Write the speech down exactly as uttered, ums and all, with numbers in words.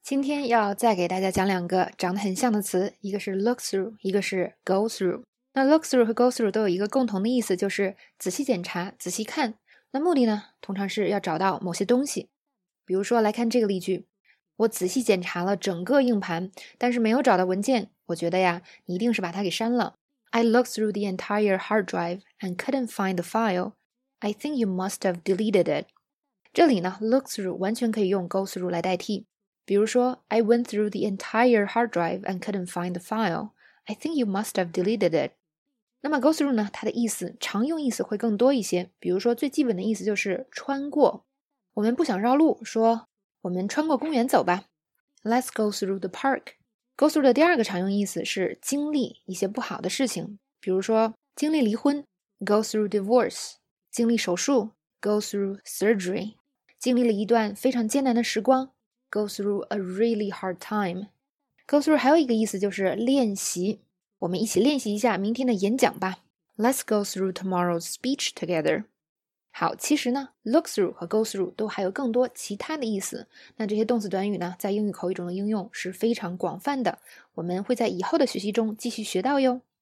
今天要再给大家讲两个长得很像的词，一个是 look through， 一个是 go through。那 look through 和 go through 都有一个共同的意思，就是仔细检查、仔细看。那目的呢，通常是要找到某些东西。比如说来看这个例句，我仔细检查了整个硬盘，但是没有找到文件。我觉得呀，你一定是把它给删了。I looked through the entire hard drive and couldn't find the file. I think you must have deleted it. 这里呢 look through 完全可以用 go through 来代替。比如说 I went through the entire hard drive and couldn't find the file. I think you must have deleted it. 那么 go through 呢，它的意思常用意思会更多一些。比如说最基本的意思就是穿过。我们不想绕路，说我们穿过公园走吧。Let's go through the park. Go through 的第二个常用意思是经历一些不好的事情，比如说经历离婚 go through divorce， 经历手术 go through surgery， 经历了一段非常艰难的时光 go through a really hard time。 Go through 还有一个意思就是练习，我们一起练习一下明天的演讲吧。 Let's go through tomorrow's speech together。好，其实呢 look through 和 go through 都还有更多其他的意思。那这些动词短语呢，在英语口语中的应用是非常广泛的，我们会在以后的学习中继续学到哟。